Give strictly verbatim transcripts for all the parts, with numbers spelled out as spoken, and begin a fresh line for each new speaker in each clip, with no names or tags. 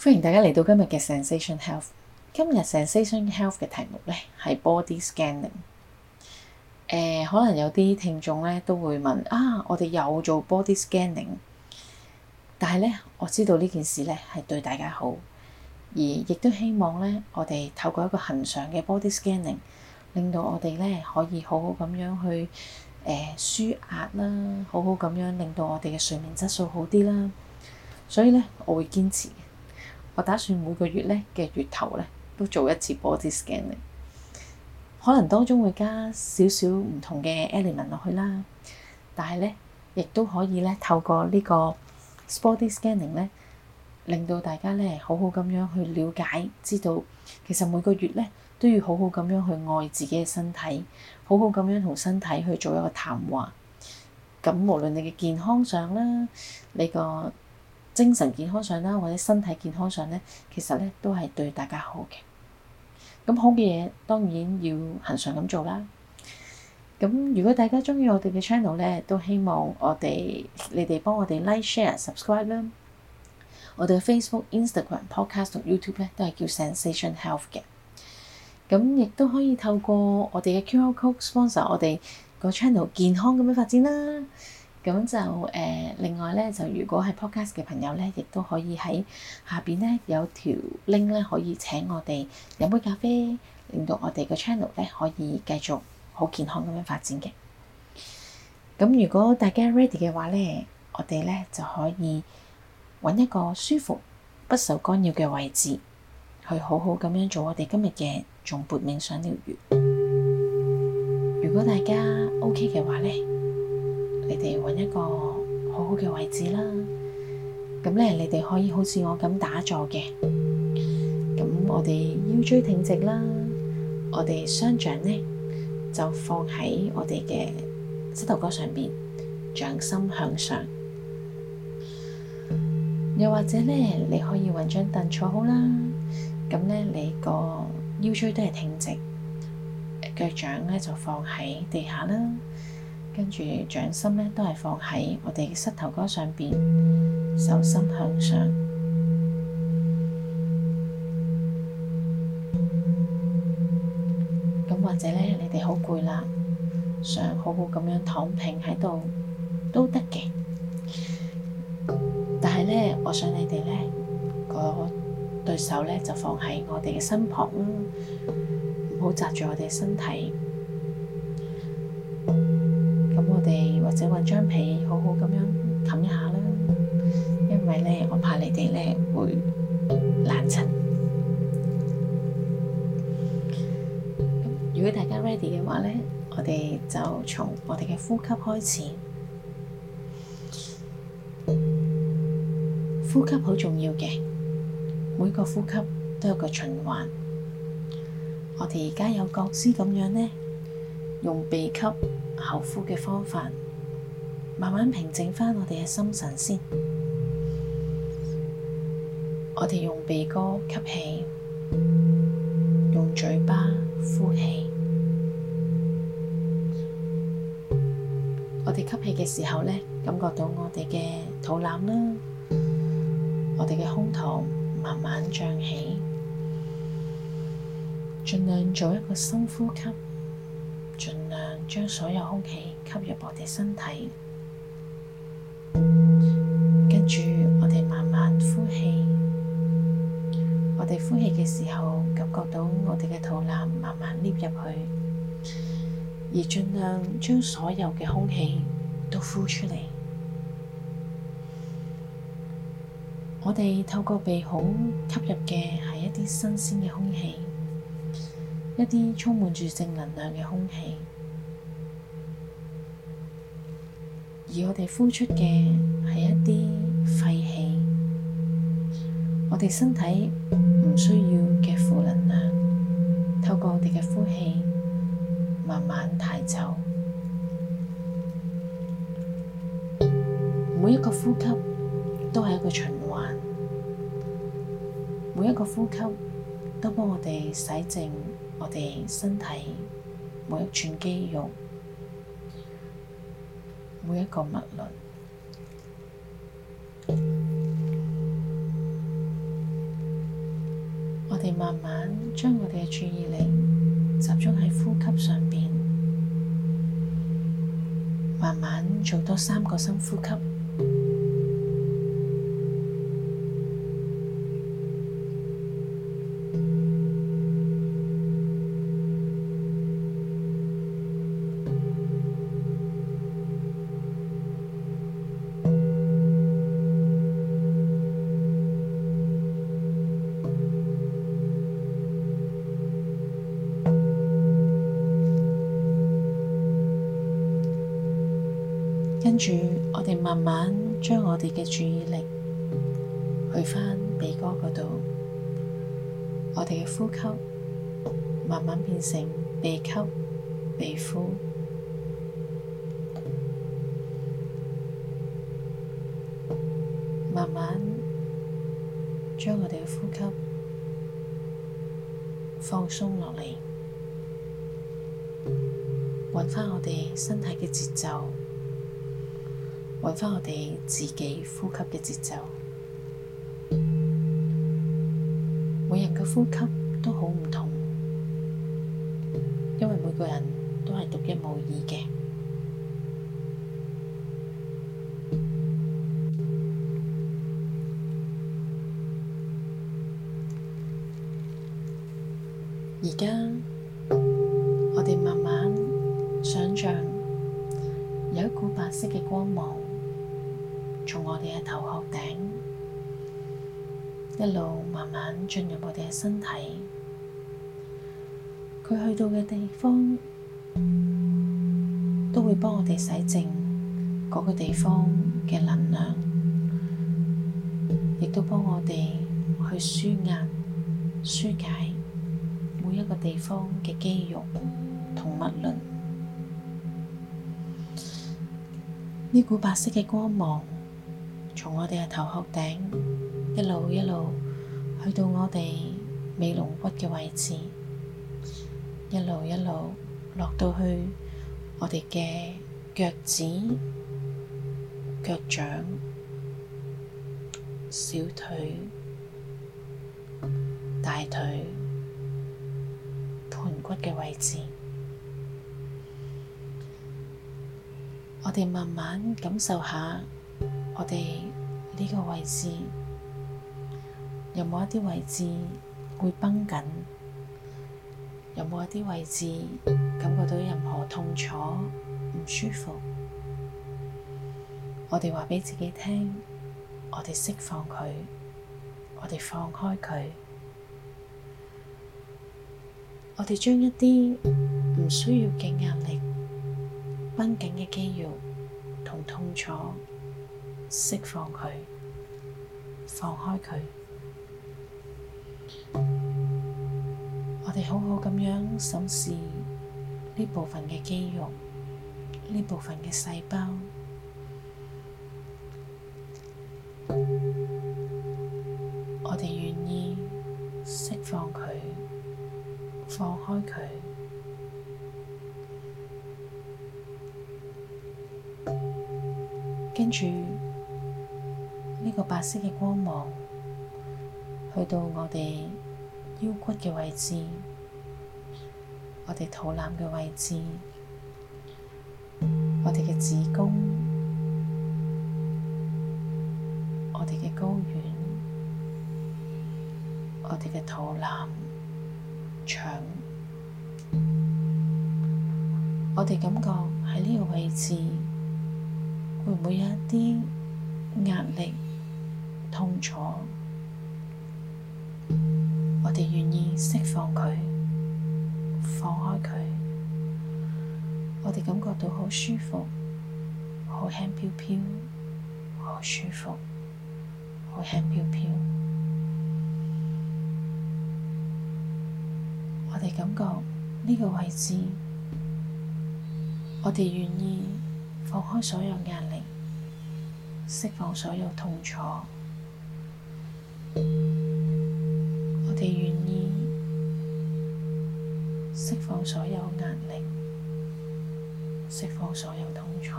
歡迎大家嚟到今日嘅 Zensation Health。今日 Zensation Health 嘅題目咧係 Body Scanning。誒、呃，可能有啲聽眾咧都會問啊，我哋又做 Body Scanning，但係咧我知道呢件事咧係對大家好，而亦都希望咧我哋透過一個恆常嘅 Body Scanning，令到我哋咧可以好好咁樣去誒舒壓啦，好好咁樣令到我哋嘅睡眠質素好啲啦。所以咧我會堅持。我打算每個月咧嘅月頭咧都做一次 body scanning，可能當中會加少少唔同嘅 element 落去啦，但係咧亦都可以咧透過呢個 body scanning 咧，令到大家咧好好咁樣去了解，知道其實每個月咧都要好好咁樣去愛自己嘅身體，好好咁樣同身體去做一個談話。咁無論你嘅健康上啦，你個精神健康上啦，或者身體健康上咧，其實咧都係對大家好嘅。咁好嘅嘢當然要恆常咁做啦。咁如果大家鍾意我哋嘅 channel 咧，都希望我哋你哋幫我哋 like、share、subscribe 啦。我哋嘅 Facebook、Instagram、Podcast 同 YouTube 咧都係叫 Zensation Health 嘅。咁亦都可以透過我哋嘅 Q R code sponsor 我哋個 channel 健康咁樣發展啦。咁就誒、呃，另外咧，就如果係 podcast 嘅朋友咧，亦都可以喺下邊咧有條 link 咧，可以請我哋飲杯咖啡，令到我哋個 channel 咧可以繼續好健康咁樣發展嘅。咁如果大家 ready 嘅話咧，我哋咧就可以揾一個舒服、不受干擾嘅位置，去好好咁樣做我哋今日嘅頌缽冥想療癒。如果大家 OK 嘅話咧，你哋揾一個好好嘅位置啦，咁咧你哋可以好似我咁打坐嘅，咁我哋腰椎挺直啦，我哋雙掌咧就放喺我哋嘅膝頭哥上邊，掌心向上。又或者咧，你可以揾張凳坐好啦，咁咧你個腰椎都係挺直，腳掌咧就放喺地下啦。跟住掌心咧都係放喺我哋嘅膝頭哥上邊，手心向上。咁或者咧，你哋好攰啦，想好好咁樣躺平喺度都得嘅。但係咧，我想你哋咧個對手咧就放喺我哋嘅身旁啦，唔好紮住我哋身體。咁我哋或者揾張被好好咁樣冚一下啦，因為咧我怕你哋咧會冷親。如果大家 ready 嘅話咧，我哋就從我哋嘅呼吸開始。呼吸好重要嘅，每個呼吸都有個循環。我哋而家有覺知咁樣咧，用鼻吸口呼嘅方法，慢慢平靜返我哋嘅心神先。我哋用鼻哥吸氣，用嘴巴呼氣。我哋吸氣嘅時候咧，感覺到我哋嘅肚腩啦，我哋嘅胸膛慢慢脹起，盡量做一個深呼吸。盡量將所有空氣吸入我哋身體，跟住我哋慢慢呼氣。我哋呼氣嘅時候，感覺到我哋嘅肚腩慢慢捏入去，而盡量將所有嘅空氣都呼出嚟。我哋透過鼻孔吸入嘅係一啲新鮮嘅空氣，一啲充滿住正能量嘅空氣，而我哋呼出嘅係一啲廢氣，我哋身體唔需要嘅負能量，透過我哋嘅呼氣慢慢排走。每一個呼吸都係一個循環，每一個呼吸都幫我哋洗淨我哋身體每一寸肌肉，每一個脈輪。 哋慢慢將我哋嘅注意力集中喺呼吸上邊，慢慢做多三個深呼吸。跟住，我哋慢慢將我哋嘅注意力去返鼻哥嗰度，我哋嘅呼吸慢慢變成鼻吸鼻呼，慢慢將我哋嘅呼吸放鬆落嚟，揾返我哋身體嘅節奏。揾返我哋自己呼吸嘅節奏，每人嘅呼吸都好唔同，因為每個人都係獨一無二嘅。而家我哋慢慢想象有一股白色嘅光芒從我哋嘅頭殼頂一路慢慢進入我哋嘅身體，佢去到嘅地方都會幫我哋洗淨嗰個地方嘅能量，亦都幫我哋去舒壓、舒解每一個地方嘅肌肉同脈輪。呢股白色嘅光芒從我哋嘅頭殼頂一路一路去到我哋尾龍骨嘅位置，一路一路落到去我哋嘅腳趾、腳掌、小腿、大腿、盆骨嘅位置。我哋慢慢感受下我哋呢個位置有冇一啲位置會繃緊，有冇一啲位置感覺到任何痛楚、唔舒服？我哋話畀自己聽，我哋釋放佢，我哋放開佢，我哋將一啲唔需要嘅壓力、繃緊嘅肌肉同痛楚釋放佢，放開佢。我哋好好咁樣審視呢部分嘅肌肉，呢部分嘅細胞。我哋願意釋放佢，放開佢。跟住呢個白色嘅光芒去到我哋腰骨嘅位置，我哋肚腩嘅位置，我哋嘅子宮，我哋嘅睾丸，我哋嘅肚腩、腸，我哋感覺喺呢個位置會唔會有一啲壓力、痛楚？我哋願意釋放佢，放開佢。我哋感覺到好舒服，好輕飄飄，好舒服，好輕飄飄。我哋感覺呢個位置，我哋願意放開所有壓力，釋放所有痛楚。我哋願意釋放所有壓力，釋放所有痛楚。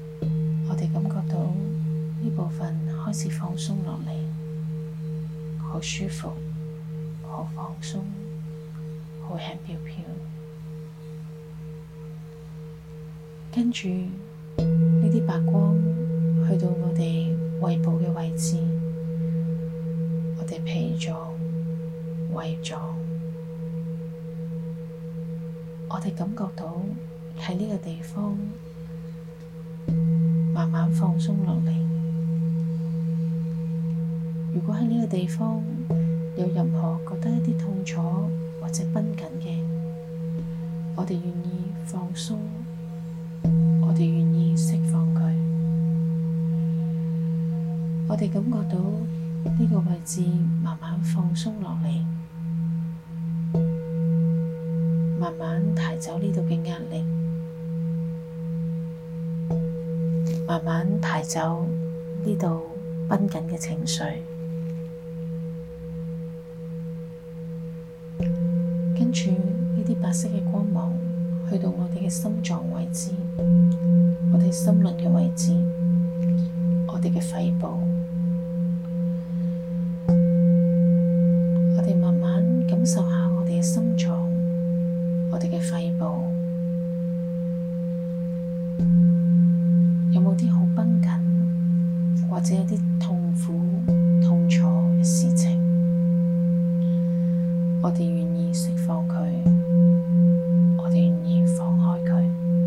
我哋感覺到呢部分開始放鬆落嚟，好好舒服，好放鬆，好輕飄飄。跟住呢啲白光去到我哋胃部嘅位置，我哋脾臟、胃臟，我哋感覺到喺呢個地方慢慢放鬆落嚟。如果喺呢個地方有任何覺得一啲痛楚或者繃緊嘅，我哋願意放鬆，我哋願意釋放佢。我哋感覺到呢個位置慢慢放鬆落嚟，慢慢抬走呢度嘅壓力，慢慢抬走呢度繃緊嘅情緒。跟住呢啲白色嘅光芒去到我哋嘅心臟位置，我哋心輪嘅位置，我哋嘅肺部，我哋慢慢感受下我哋嘅心臟，我哋嘅肺部，有冇啲好繃緊，或者有啲痛苦、痛楚嘅事情，我哋願意釋放佢，我哋願意放開佢，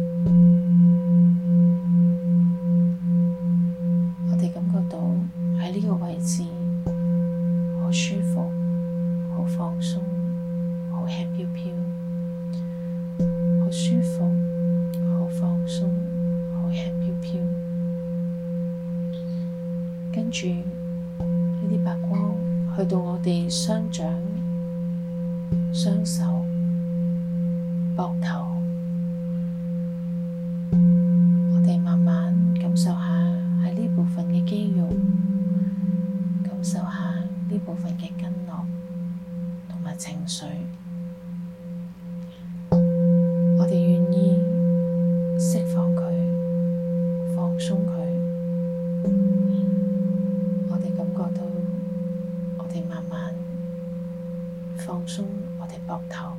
我哋感覺到喺呢個位置好舒服、好放鬆、好輕飄飄，好舒服、好放鬆、好輕飄飄。跟住呢啲白光去到我哋雙掌、雙手、膊頭，我哋慢慢感受下喺呢部分嘅肌肉，感受下呢部分嘅經絡同埋情緒。我哋願意釋放佢，放鬆佢。我哋感覺到我哋慢慢放鬆我哋膊頭，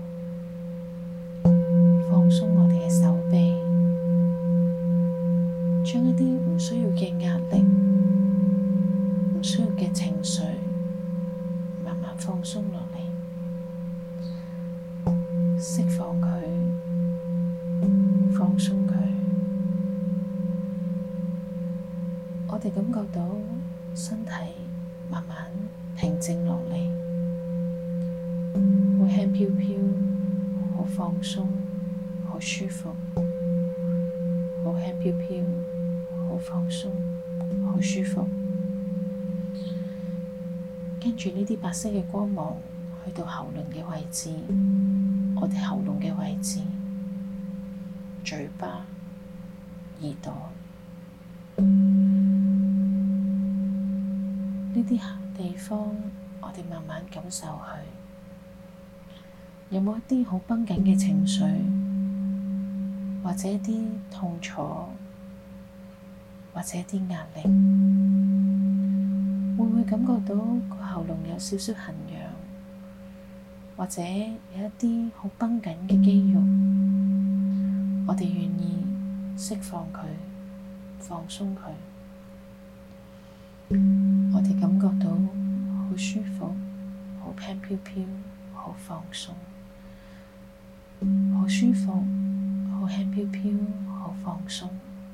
放鬆我哋嘅手臂，將一啲唔需要嘅壓力、唔需要嘅情緒慢慢放鬆落嚟，釋放佢，放鬆佢。我哋感覺到身體慢慢平靜落嚟，好輕飄飄，好放鬆，好舒服，好輕飄飄，好放鬆，好舒服。跟住呢啲白色嘅光芒去到喉輪嘅位置，我哋喉嚨嘅位置，嘴巴、耳朵，呢啲地方我哋慢慢感受佢。有冇一啲好繃緊嘅情緒，或者一啲痛楚，或者一啲壓力？會唔會感覺到個喉嚨有少少痕癢，或者有一啲好繃緊嘅肌肉？我哋願意釋放佢，放鬆佢。我哋感覺到好舒服，好輕飄飄，好放鬆。好舒服，好輕飄飄，好放鬆。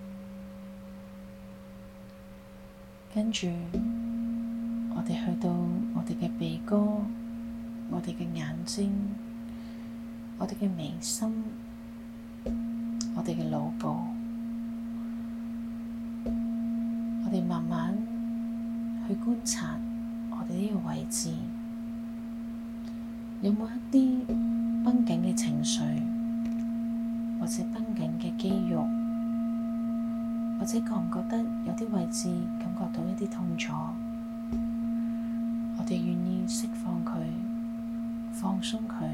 跟住，我哋去到我哋嘅鼻哥，我哋嘅眼睛，我哋嘅眉心，我哋嘅腦部，我哋慢慢去觀察我哋呢個位置，有冇一啲繃緊嘅情緒，或者繃緊嘅肌肉，或者覺唔覺得有啲位置感覺到一啲痛楚？我哋願意釋放佢，放鬆佢。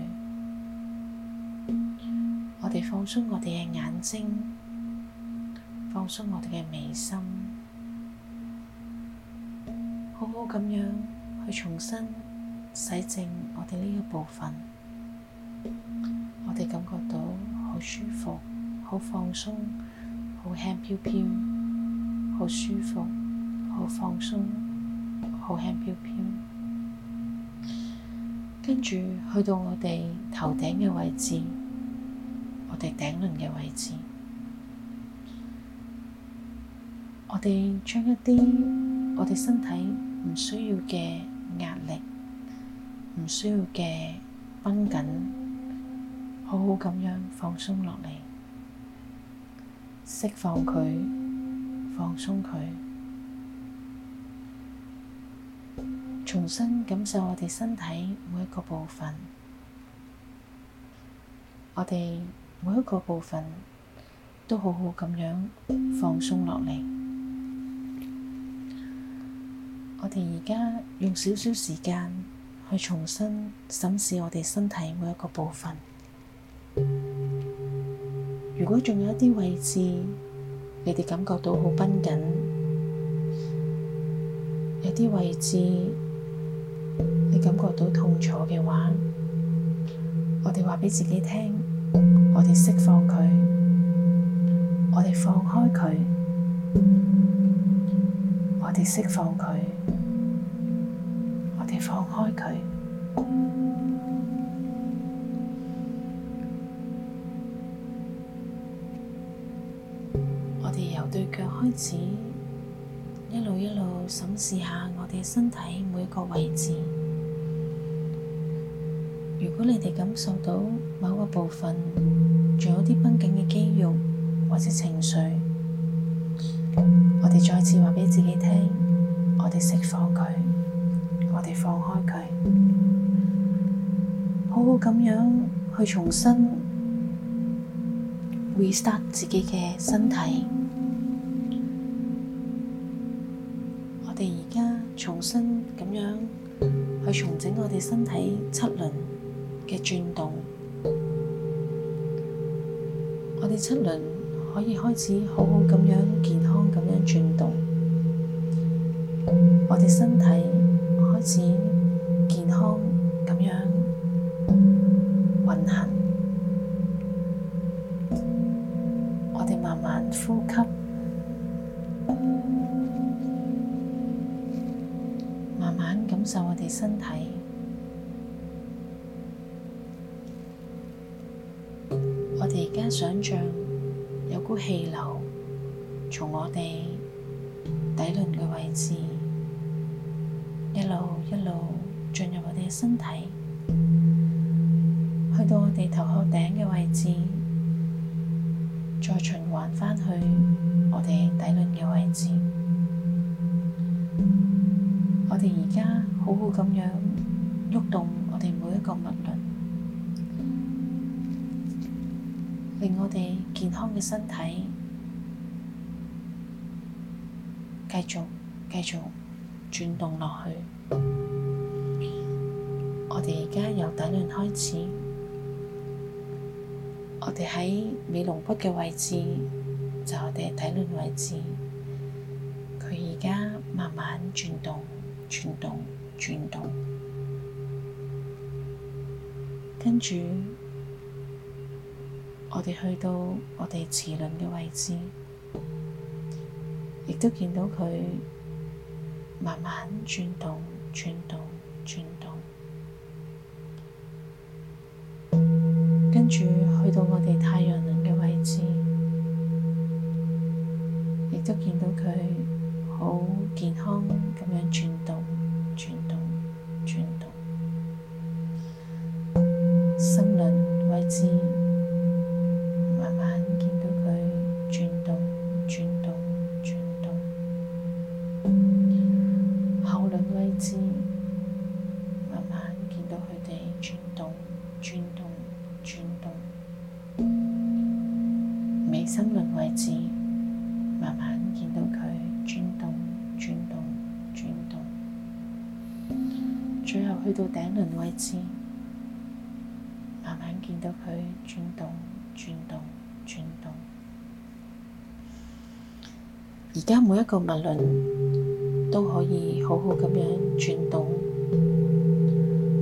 我哋放鬆我哋嘅眼睛，放鬆我哋嘅眉心，好好咁樣去重新洗淨我哋呢個部分，我哋感覺到好舒服、好放鬆、好輕飄飄、好舒服、好放鬆、好輕飄飄。跟住去到我哋頭頂嘅位置，我哋頂輪嘅位置，我哋將一啲我哋身體唔需要嘅壓力、唔需要嘅繃緊，好好咁樣放鬆落嚟，釋放佢，放鬆佢，重新感受我哋身體每一個部分，我哋每一個部分都好好咁樣放鬆落嚟。我哋而家用少少時間去重新審視我哋身體每一個部分。如果仲有一啲位置，你哋感覺到好繃緊，有啲位置你感覺到痛楚嘅話，我哋話畀自己聽，我哋釋放佢，我哋放開佢，我哋釋放佢，我哋放開佢。我哋由對腳開始，一路一路審視下我哋身體每一個位置。如果你哋感受到某個部分仲有啲繃緊嘅肌肉或者情緒，我哋再次話畀自己聽，我哋釋放佢，我哋放開佢，好好咁樣去重新 restart 自己嘅身體。我哋而家重新咁樣去重整我哋身體七輪嘅轉動，我哋七輪可以開始好好咁樣健康咁樣轉動，我哋身體開始健康咁樣運行，我哋慢慢呼吸，慢慢感受我哋身體。我哋而家想象有股氣流從我哋底輪嘅位置一路一路進入我哋嘅身體，去到我哋頭殼頂嘅位置，再循環返去我哋底輪嘅位置。我哋而家好好咁樣喐動我哋每一個脈輪，令我哋健康嘅身體繼續繼續轉動落去。我哋而家由底輪開始，我哋喺尾龍骨嘅位置，就係我哋嘅底輪位置，佢而家慢慢轉動、轉動、轉動，跟住我哋去到我哋臍輪嘅位置，亦都見到佢慢慢轉動、轉動、轉動，跟住去到我哋太陽輪嘅位置，亦都見到佢好健康咁樣轉動、轉動、轉動。心輪位置，慢慢見到佢轉動、轉動、轉動。喉輪位置，慢慢見到佢哋轉動、轉動、轉動。眉心輪位置，慢慢見到佢轉動、轉動、轉動。最後去到頂輪位置，慢慢見到佢轉動、轉動、轉動。而家每一個脈輪都可以好好咁樣轉動，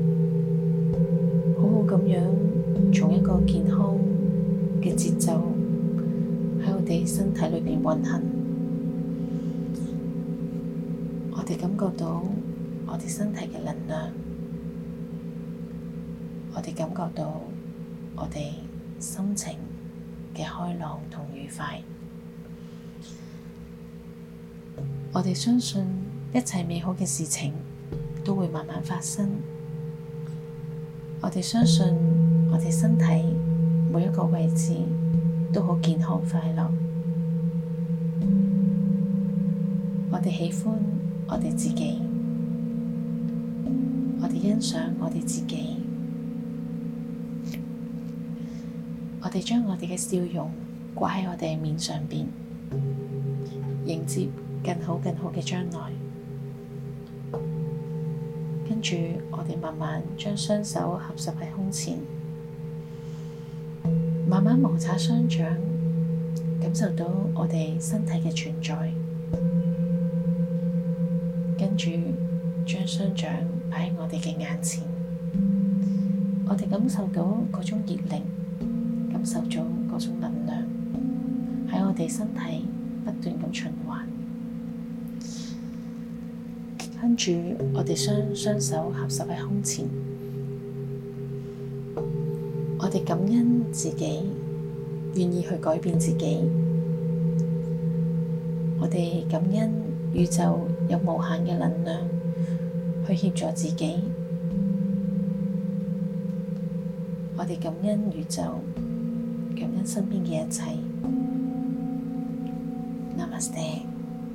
運行，我哋感覺到我哋身體嘅能量，我哋感覺到我哋心情嘅開朗同愉快。我哋相信一切美好嘅事情都會慢慢發生。我哋相信我哋身體每一個位置都好健康快樂。我哋喜歡我哋自己，我哋欣賞我哋自己，我哋將我哋嘅笑容掛喺我哋面上邊，迎接更好更好嘅將來。跟住我哋慢慢將雙手合十喺胸前，慢慢摩擦雙掌，感受到我哋身體嘅存在。跟住將雙掌擺喺我哋嘅眼前，我哋感受到嗰種熱力，感受到嗰種能量喺我哋身體不斷咁循環。跟住我哋雙雙手合十喺胸前，我哋感恩自己願意去改變自己，我哋感恩宇宙有無限嘅能量去協助自己，我哋感恩宇宙，感恩身邊嘅一切。Namaste。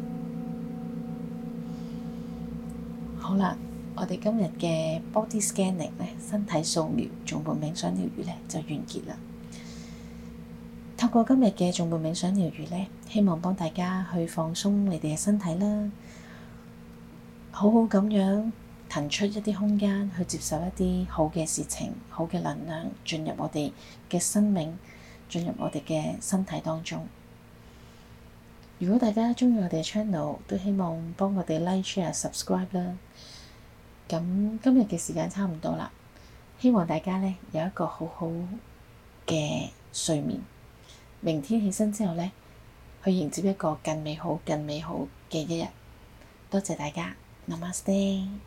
好啦，我哋今日嘅 body scanning 咧，身體掃描頌缽冥想療癒咧就完結啦。透過今日嘅頌缽冥想療癒咧，希望幫大家去放鬆你哋嘅身體啦，好好咁樣騰出一啲空間去接受一啲好嘅事情、好嘅能量進入我哋嘅生命，進入我哋嘅身體當中。如果大家鍾意我哋嘅 channel， 都希望幫我哋 like、share、subscribe 啦。咁今日嘅時間差唔多啦，希望大家咧有一個好好嘅睡眠。明天起身之後咧，去迎接一個更美好、更美好嘅一日。多謝大家，Namaste。